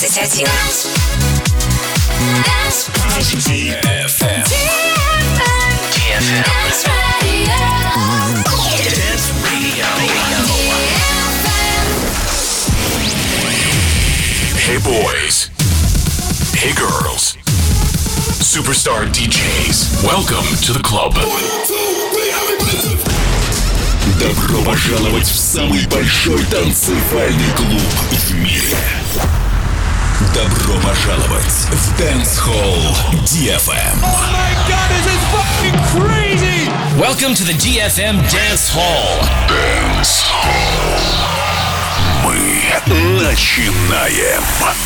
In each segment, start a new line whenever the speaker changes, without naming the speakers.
21.
Hey boys. Hey girls. Superstar DJs. Welcome to the club.
Добро пожаловать в самый большой танцевальный клуб в мире. Добро пожаловать в Dance Hall DFM.
Oh my god, this is fucking crazy!
Welcome to the DFM Dance Hall.
Dance Hall. Мы начинаем.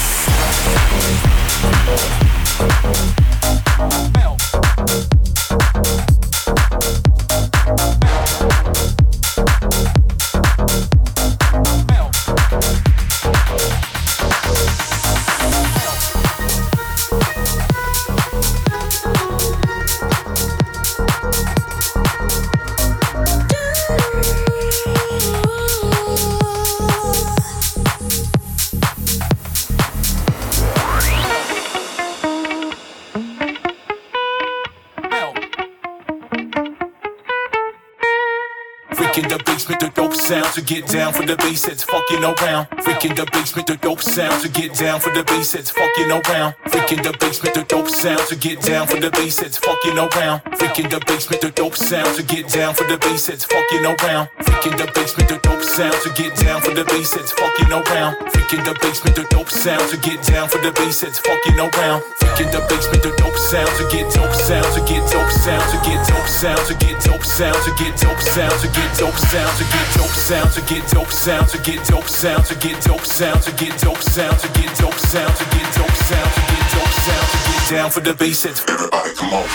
Sound to get down for the bass that's fucking around. Freaking the basement, the dope sound to get down for the bass that's fucking around. Freaking the basement, the dope sound to get down for the bass that's fucking around. Freaking the basement, the dope sound to get down for the bass that's fucking around. Freaking the basement, the dope sound to get down for the bass that's fucking around. Freaking the basement, the dope sound to get down for the bass that's fucking around. Freaking the basement, the dope sound to get dope sound to get dope sound to get dope sound to get dope sound to get dope sound to get dope sound to get dope sound to get dope sound to get dope sound to get dope sound to get dope sound to get dope sound to get dope sound to get dope sound to get down for the bass hits. Everybody come on.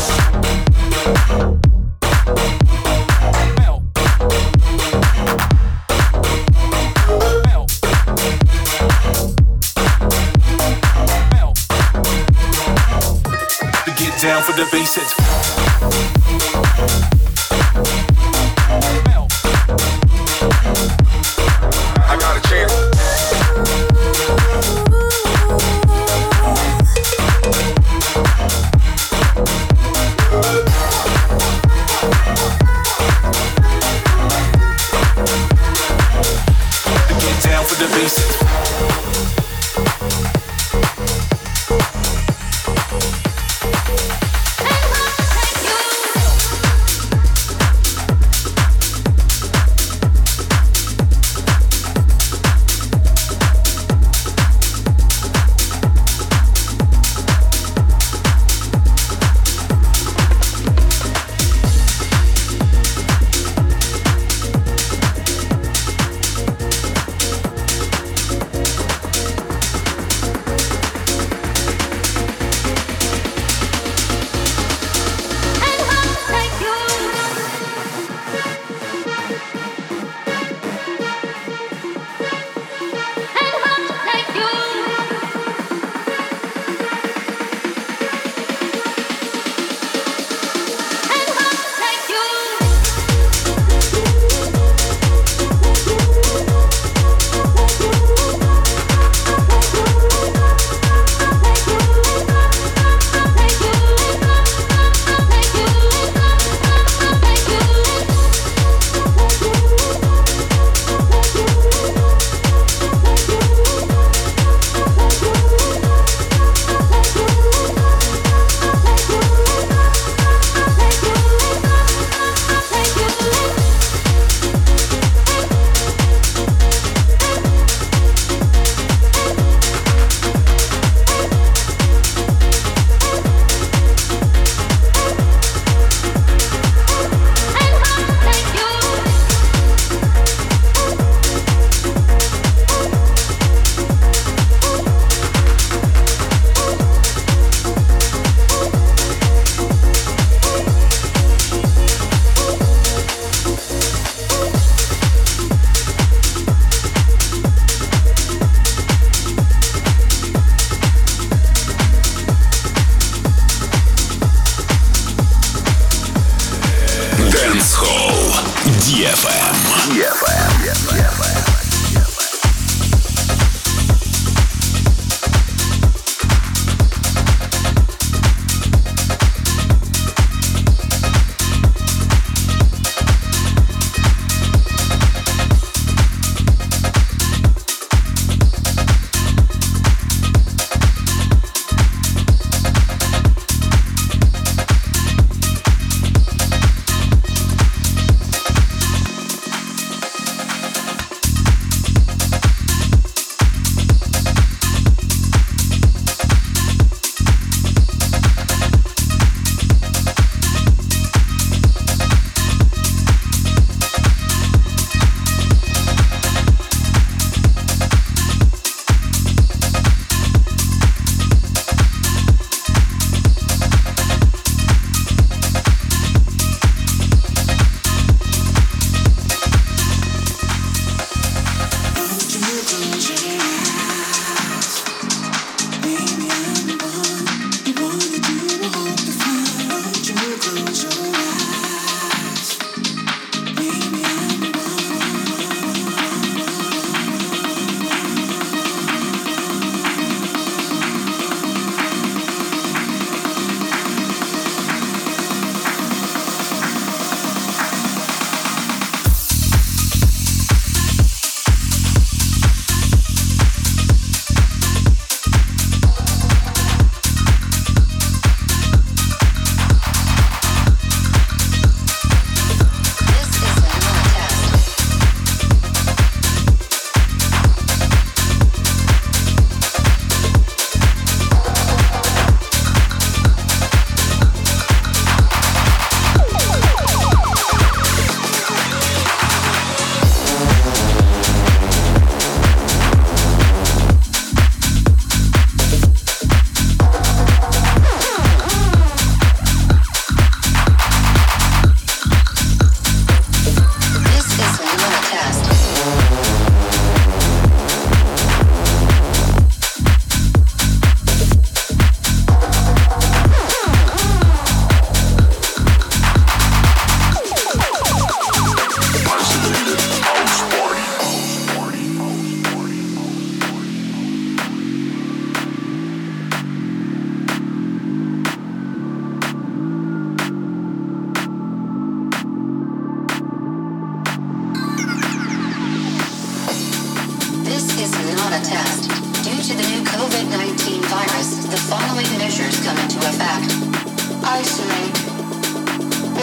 To get down for the bass hits. I got a chance. To get down for the basics.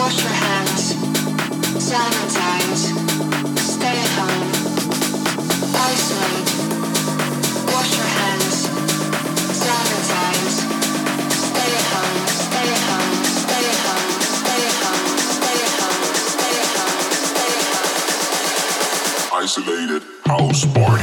Isolated house party.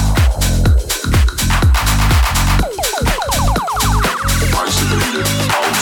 Isolated house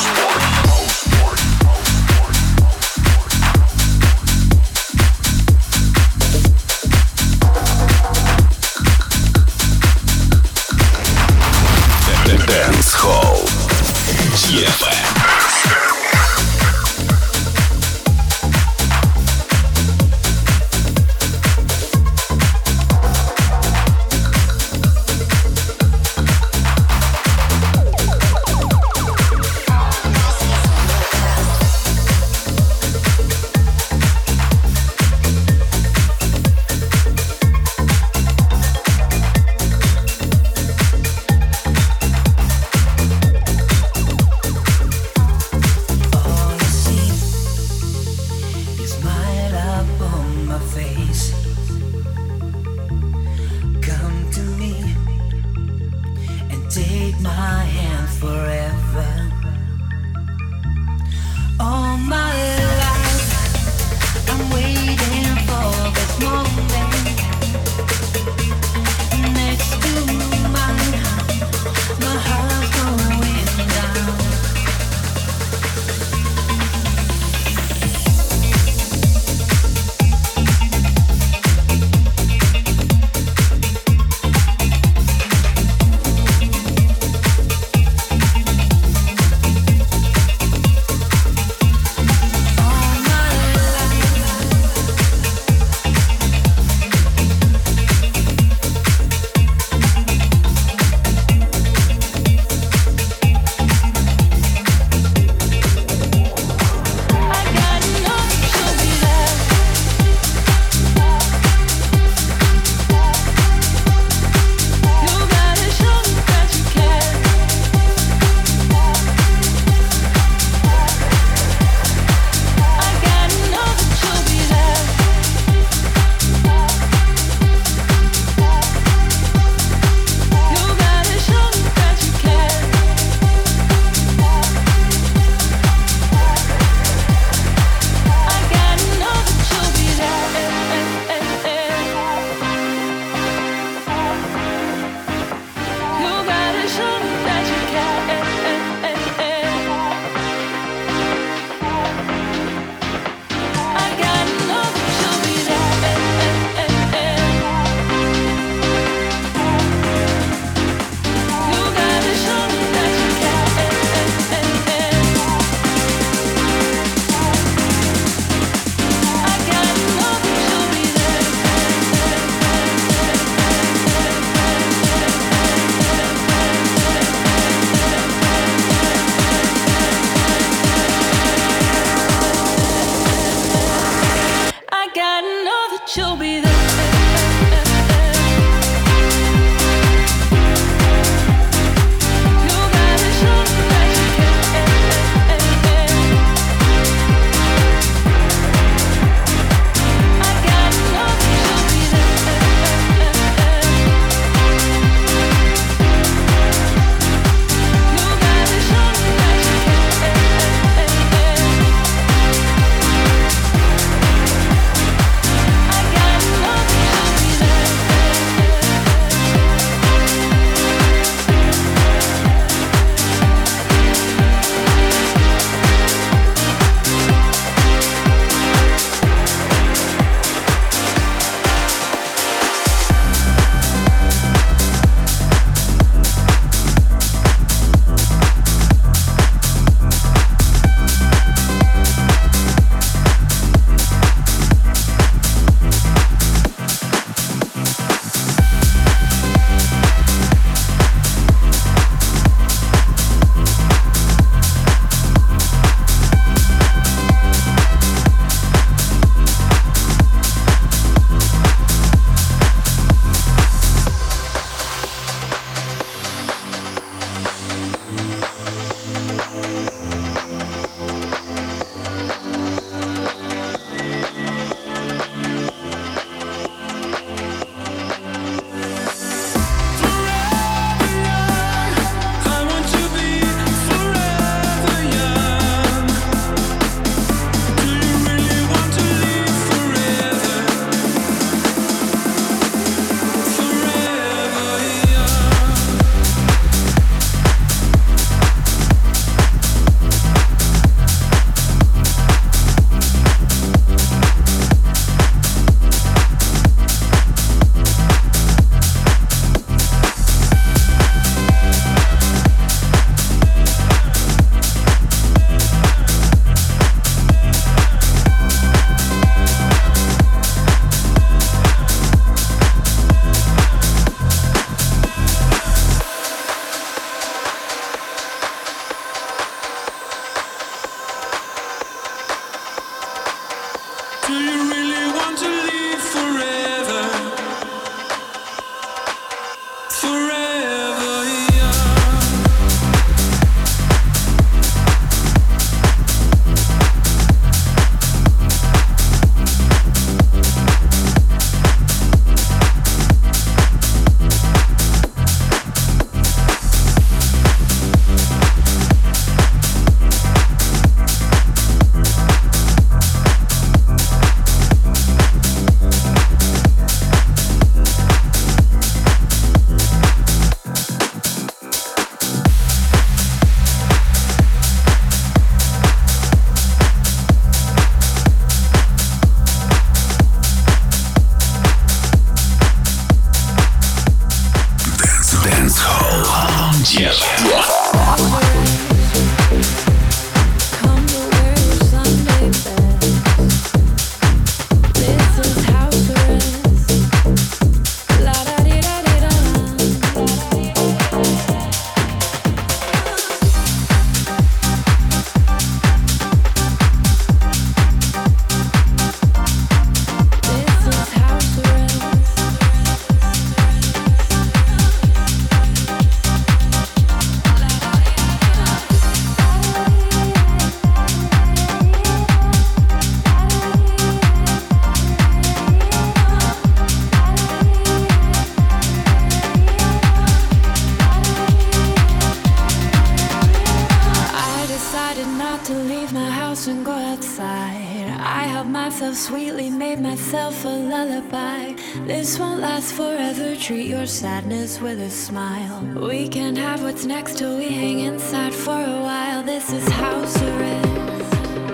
Treat your sadness with a smile. We can have what's next till we hang inside for a while. This is house arrest.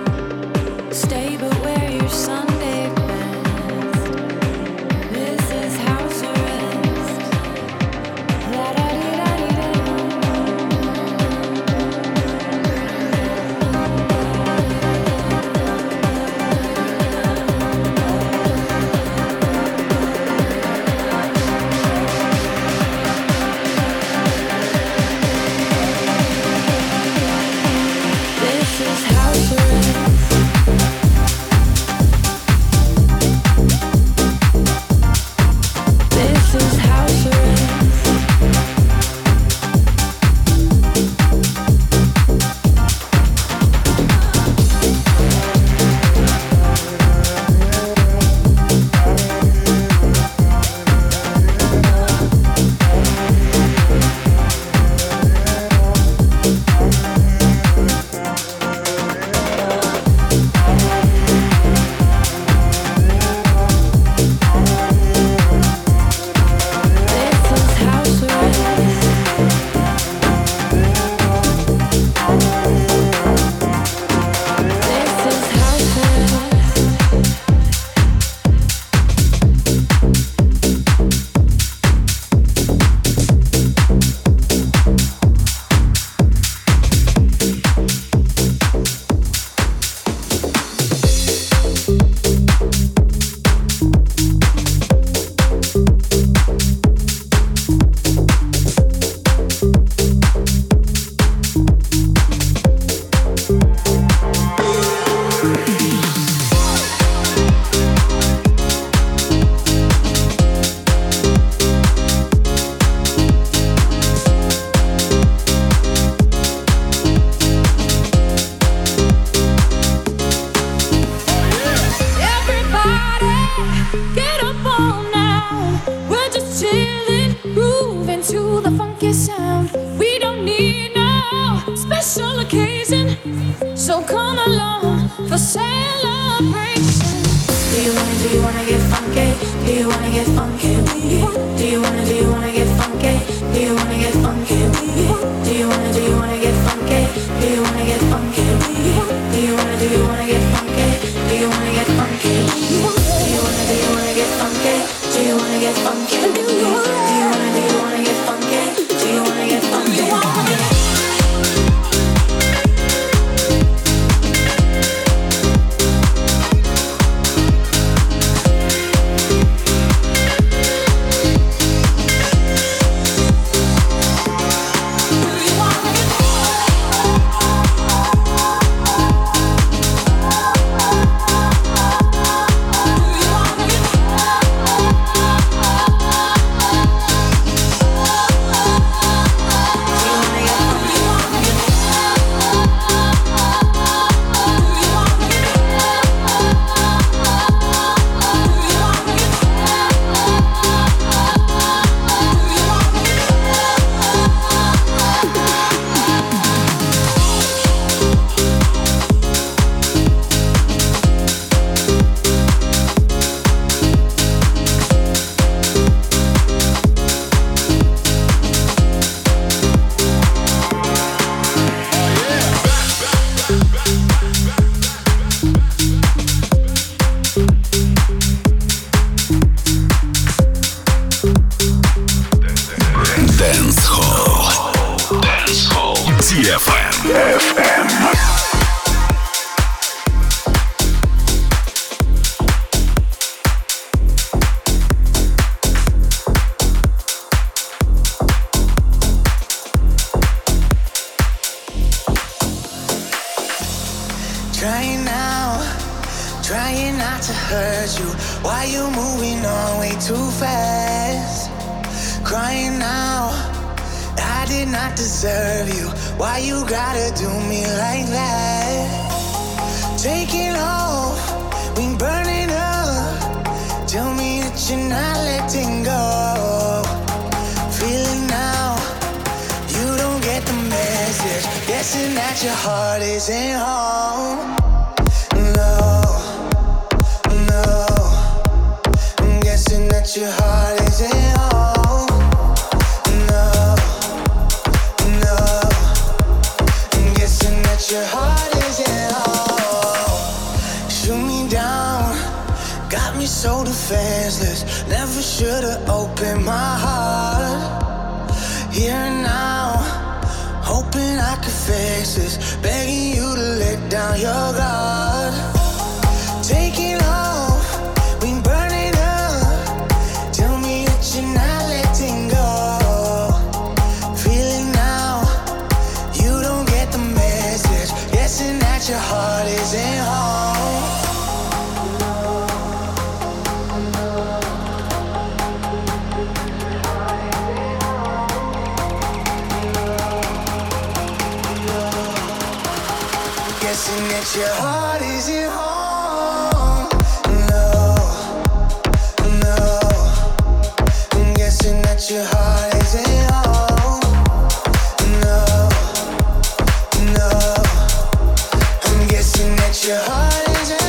Stay but wear your Sunday best. This is house arrest. La da dee da dee da.
Dance Hall.
DFM.
Trying not to hurt you. Why you moving on way too fast? Crying now, I did not deserve you. Why you gotta do me like that? Taking off, we burning up. Tell me that you're not letting go. Feeling now, you don't get the message. Guessing that your heart isn't home. That your heart isn't home. No. I'm guessing that your heart isn't home. Shoot me down, got me so defenseless. Never should've opened my heart. Here and now, hoping I could fix this. Begging you to let down your guard. Taking off, we burning up. You're not letting go. Feeling now, you don't get the message. Guessing that your heart isn't home. Guessing that your heart isn't home. Your heart isn't home. No. I'm guessing that your heart isn't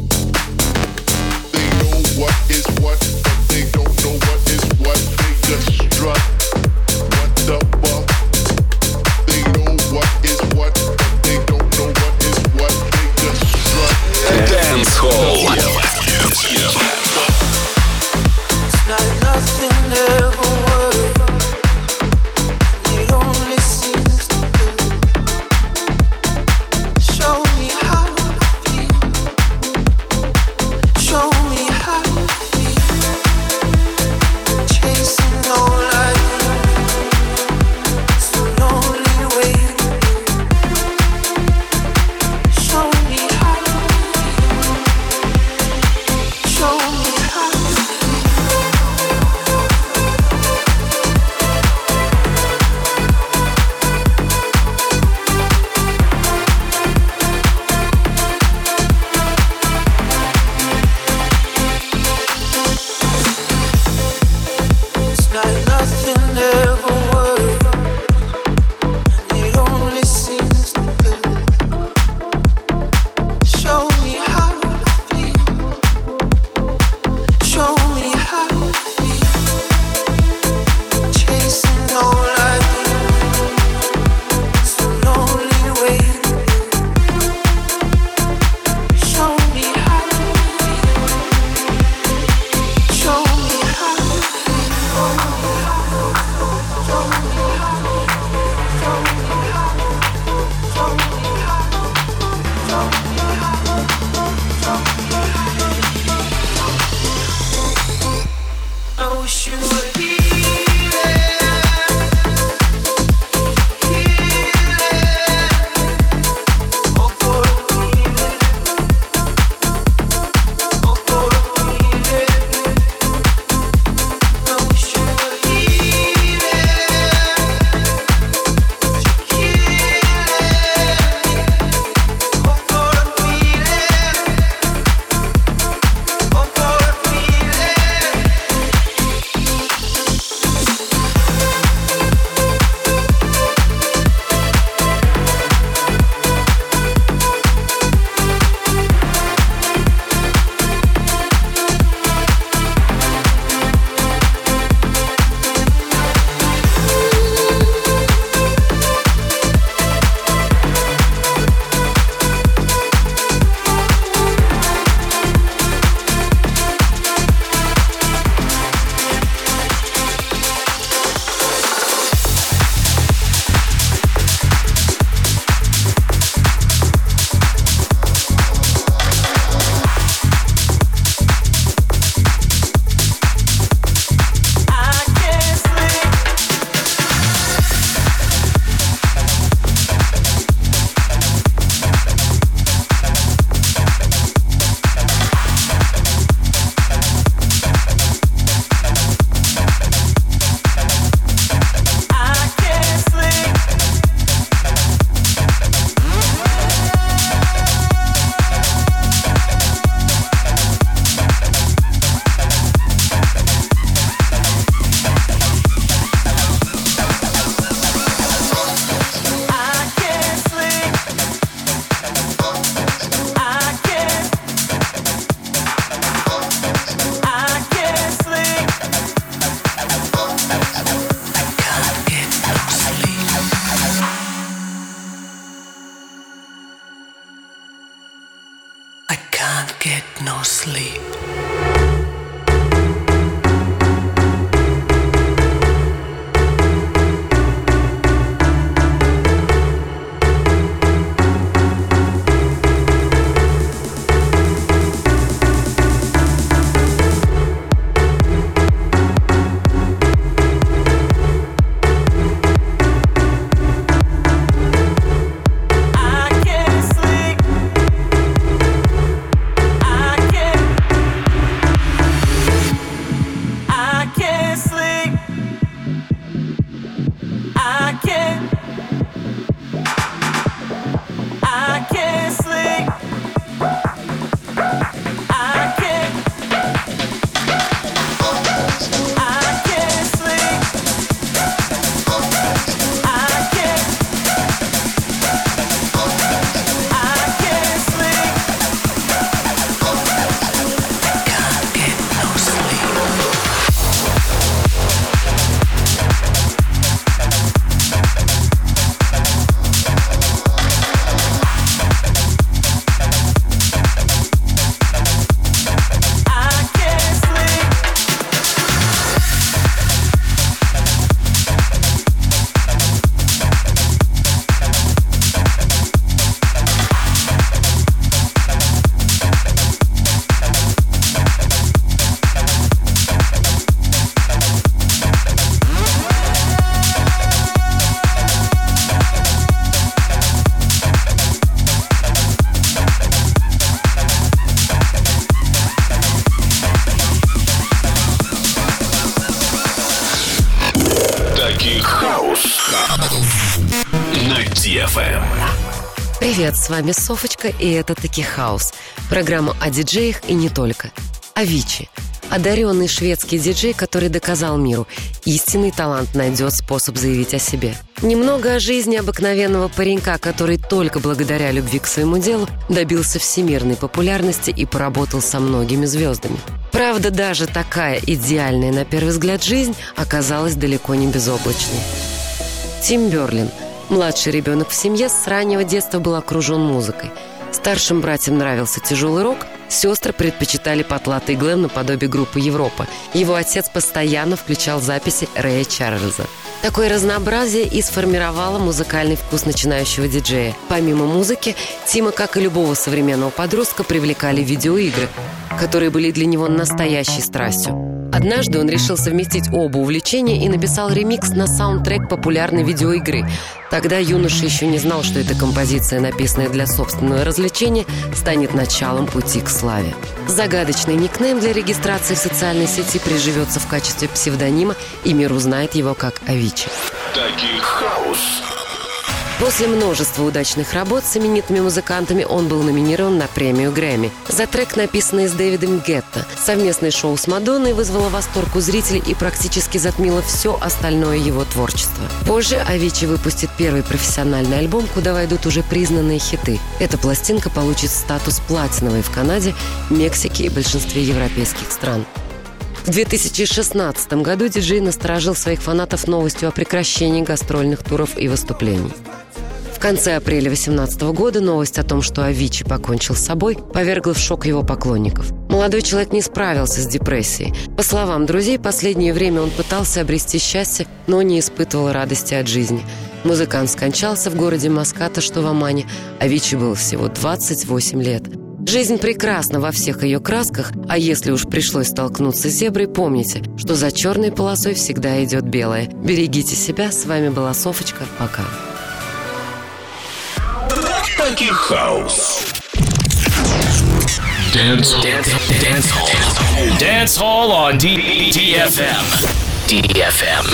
what, but they don't know what is what. They just
на DFM.
Привет, с вами Софочка, и это «Таки Хаус». Программа о диджеях и не только. Авичи. Одаренный шведский диджей, который доказал миру: истинный талант найдет способ заявить о себе. Немного о жизни обыкновенного паренька, который только благодаря любви к своему делу добился всемирной популярности и поработал со многими звездами. Правда, даже такая идеальная на первый взгляд жизнь оказалась далеко не безоблачной. Тим Берлин, младший ребенок в семье, с раннего детства был окружен музыкой. Старшим братьям нравился тяжелый рок, сестры предпочитали потлатый глэм наподобие группы «Европа». Его отец постоянно включал записи Рэя Чарльза. Такое разнообразие и сформировало музыкальный вкус начинающего диджея. Помимо музыки, Тима, как и любого современного подростка, привлекали видеоигры, которые были для него настоящей страстью. Однажды он решил совместить оба увлечения и написал ремикс на саундтрек популярной видеоигры. Тогда юноша еще не знал, что эта композиция, написанная для собственного развлечения, станет началом пути к славе. Загадочный никнейм для регистрации в социальной сети приживется в качестве псевдонима, и мир узнает его как Авичи.
Таки Хаус.
После множества удачных работ с именитыми музыкантами он был номинирован на премию Грэмми за трек, написанный с Дэвидом Гетто. Совместное шоу с Мадонной вызвало восторг у зрителей и практически затмило все остальное его творчество. Позже Авичи выпустит первый профессиональный альбом, куда войдут уже признанные хиты. Эта пластинка получит статус платиновой в Канаде, Мексике и большинстве европейских стран. В 2016 году диджей насторожил своих фанатов новостью о прекращении гастрольных туров и выступлений. В конце апреля 2018 года новость о том, что Авичи покончил с собой, повергла в шок его поклонников. Молодой человек не справился с депрессией. По словам друзей, последнее время он пытался обрести счастье, но не испытывал радости от жизни. Музыкант скончался в городе Маскато, что в Омане. Авичи было всего 28 лет. Жизнь прекрасна во всех ее красках, а если уж пришлось столкнуться с зеброй, помните, что за черной полосой всегда идет белая. Берегите себя, с вами была Софочка, пока.
Таки Хаус. Dance
Hall on DFM.
DFM.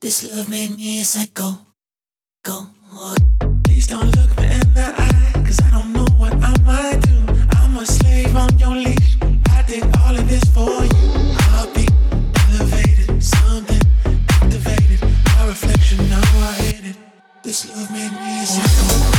This love made me a psycho. Go. Please don't look me in the eye, 'cause I don't know what I might do. I'm a slave on your leash. I did all of this for you. I'll be elevated, something activated. My reflection, now I hate it. This love made me a psycho.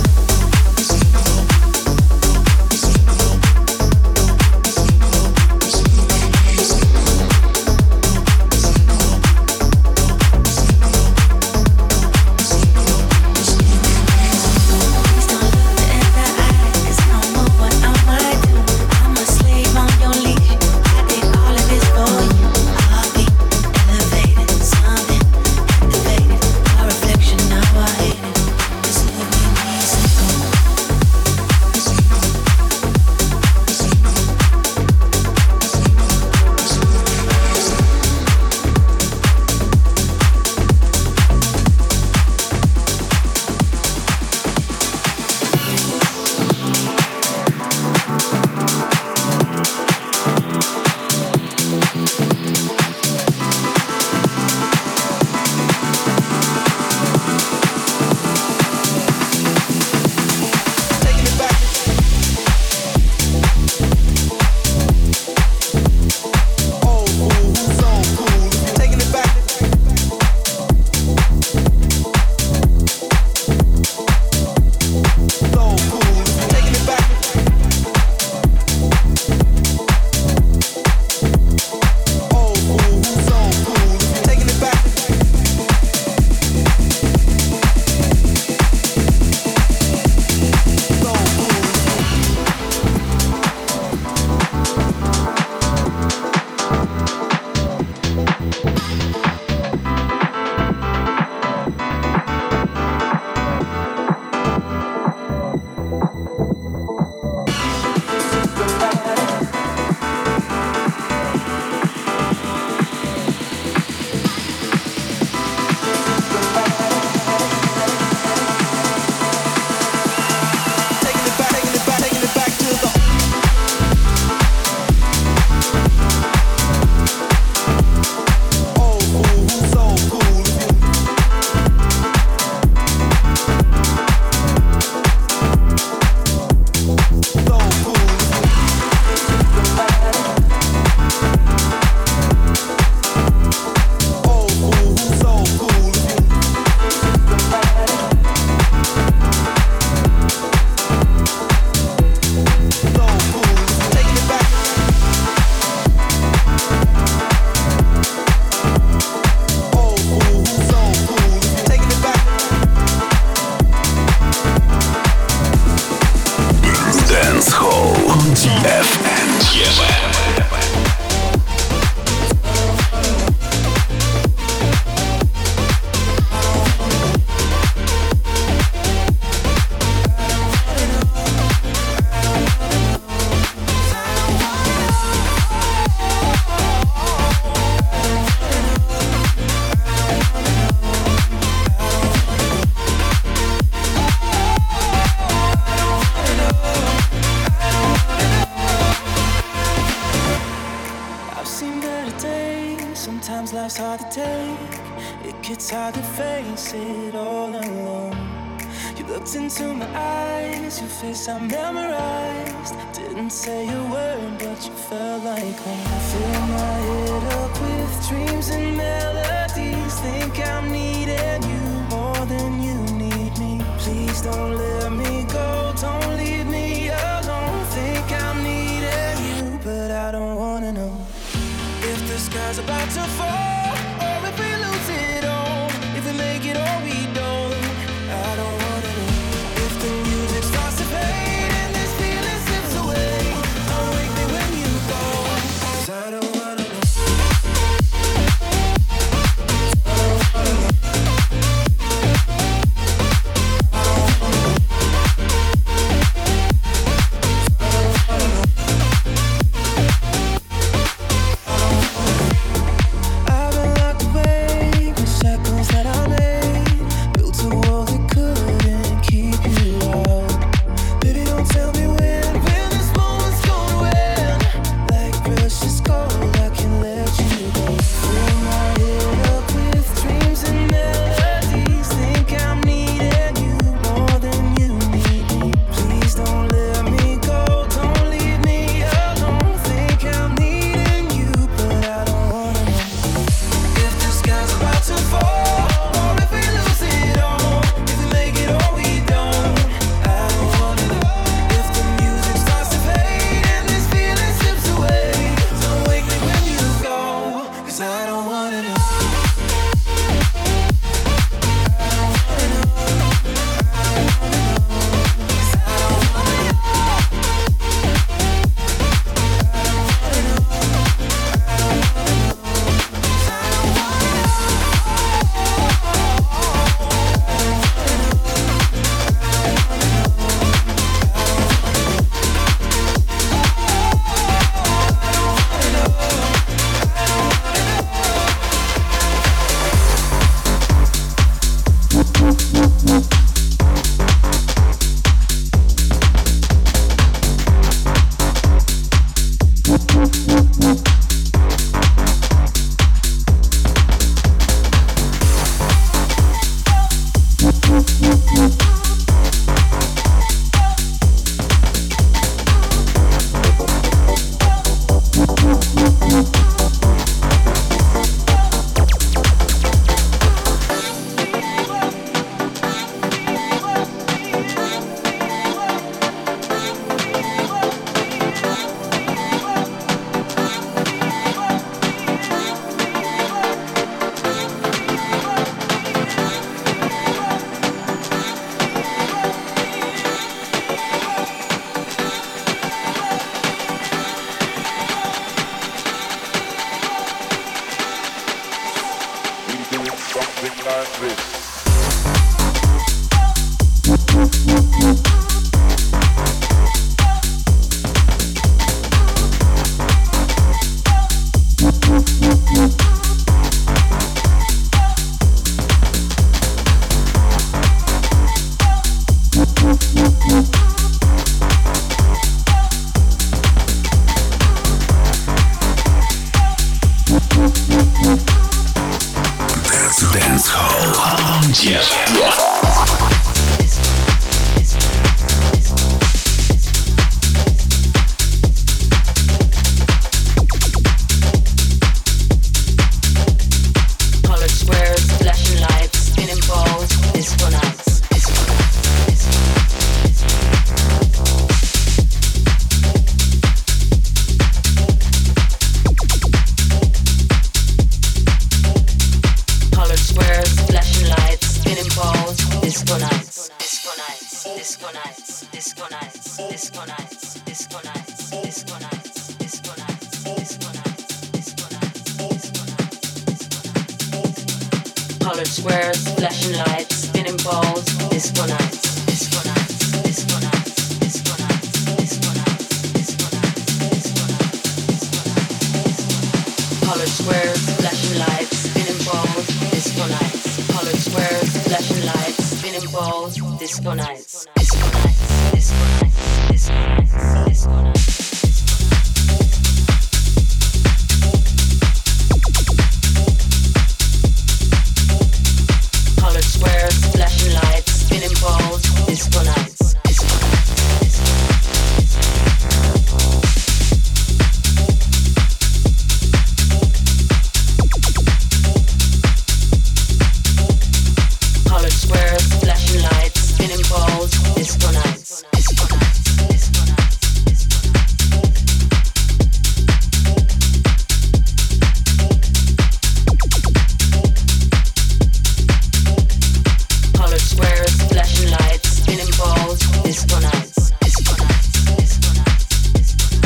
I memorized, didn't say a word, but you felt like home. Fill my head up with dreams and melodies. Think I'm needing you more than you need me. Please don't let me go, don't leave me alone. Think I'm needing you, but I don't wanna know if the sky's about to fall or if we lose it all. If we make it or we don't, I don't wanna know if the music starts to fade.
I
something like this.
Colored squares, flashing lights, spinning balls, disco nights, disco nights, disco nights, disco nights, disco nights, disco nights, disco nights. Colored squares, flashing lights, spinning balls, disco nights. Colored squares, flashing lights, spinning balls, disco nights, disco nights, disco nights, disco nights, disco nights. Squares, flashing lights, spinning balls, disco nights. Colored squares, flashing lights, spinning balls, disco nights. Disco nights, disco nights, disco Colored squares, flashing lights, spinning balls, disco nights, disco nights, disco nights, disco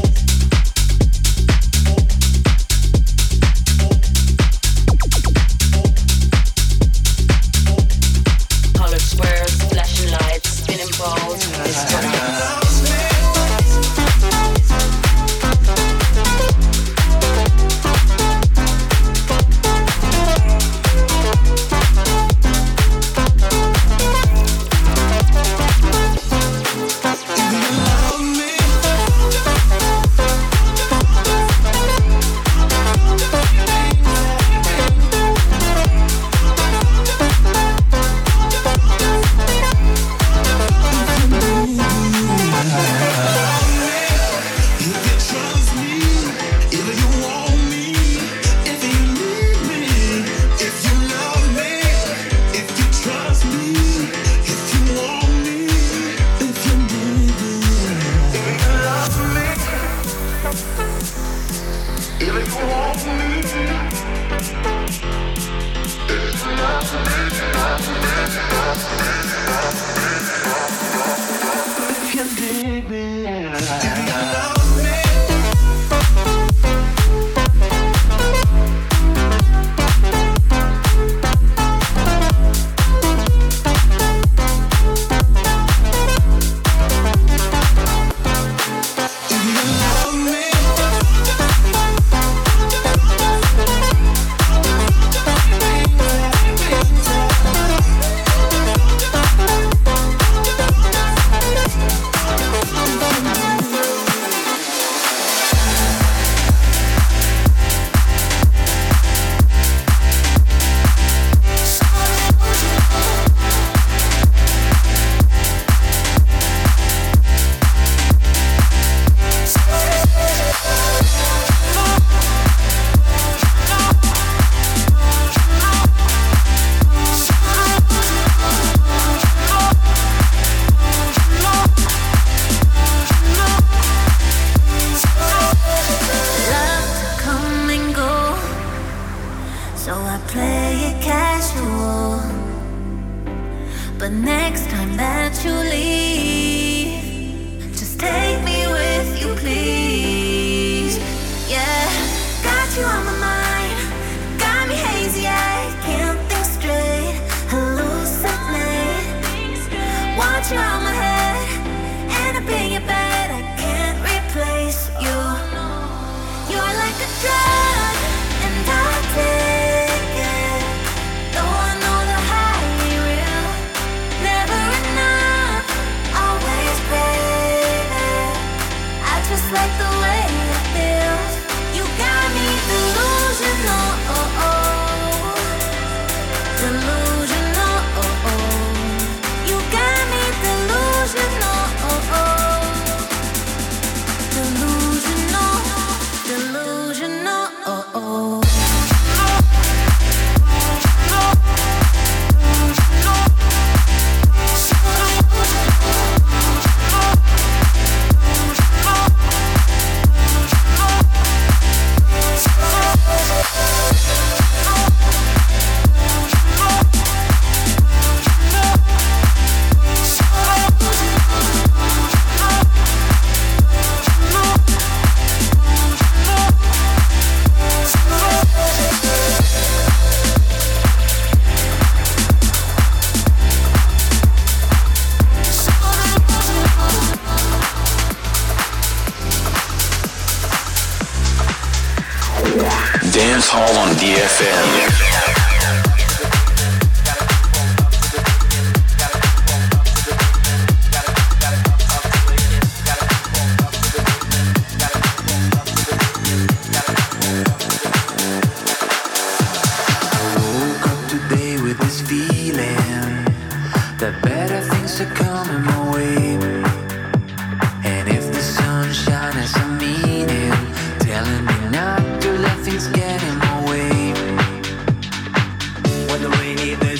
nights. Colored squares, flashing lights, spinning balls, disco nights.
DFM.
That better things are coming my way. And if the sunshine has a meaning, telling me not to let things get in my way. When the rainy days